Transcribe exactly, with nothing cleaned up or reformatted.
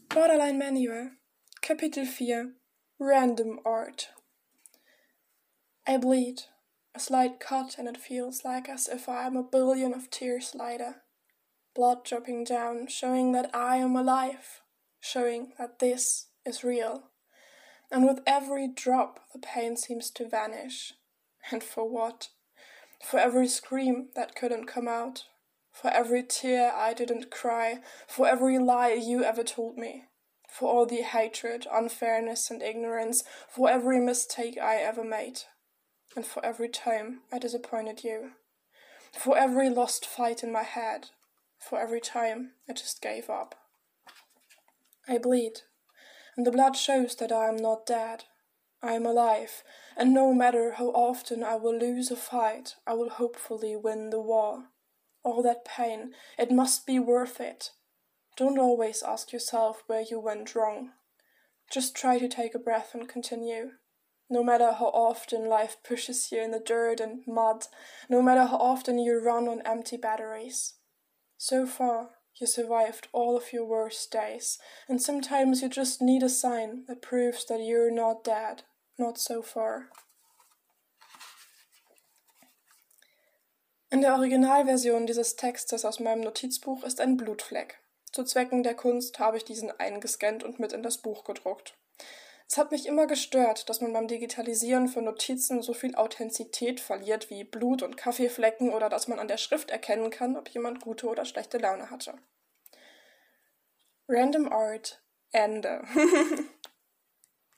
Borderline Manual, Kapitel vier, Random Art. I bleed, a slight cut, and it feels like as if I am a billion of tears lighter. Blood dropping down, showing that I am alive, showing that this is real. And with every drop, the pain seems to vanish. And for what? For every scream that couldn't come out. For every tear I didn't cry, for every lie you ever told me, for all the hatred, unfairness, and ignorance, for every mistake I ever made, and for every time I disappointed you, for every lost fight in my head, for every time I just gave up. I bleed, and the blood shows that I am not dead. I am alive, and no matter how often I will lose a fight, I will hopefully win the war. All that pain, it must be worth it. Don't always ask yourself where you went wrong. Just try to take a breath and continue. No matter how often life pushes you in the dirt and mud, no matter how often you run on empty batteries. So far, you survived all of your worst days, and sometimes you just need a sign that proves that you're not dead, not so far. In der Originalversion dieses Textes aus meinem Notizbuch ist ein Blutfleck. Zu Zwecken der Kunst habe ich diesen eingescannt und mit in das Buch gedruckt. Es hat mich immer gestört, dass man beim Digitalisieren von Notizen so viel Authentizität verliert wie Blut und Kaffeeflecken oder dass man an der Schrift erkennen kann, ob jemand gute oder schlechte Laune hatte. Random Art, Ende.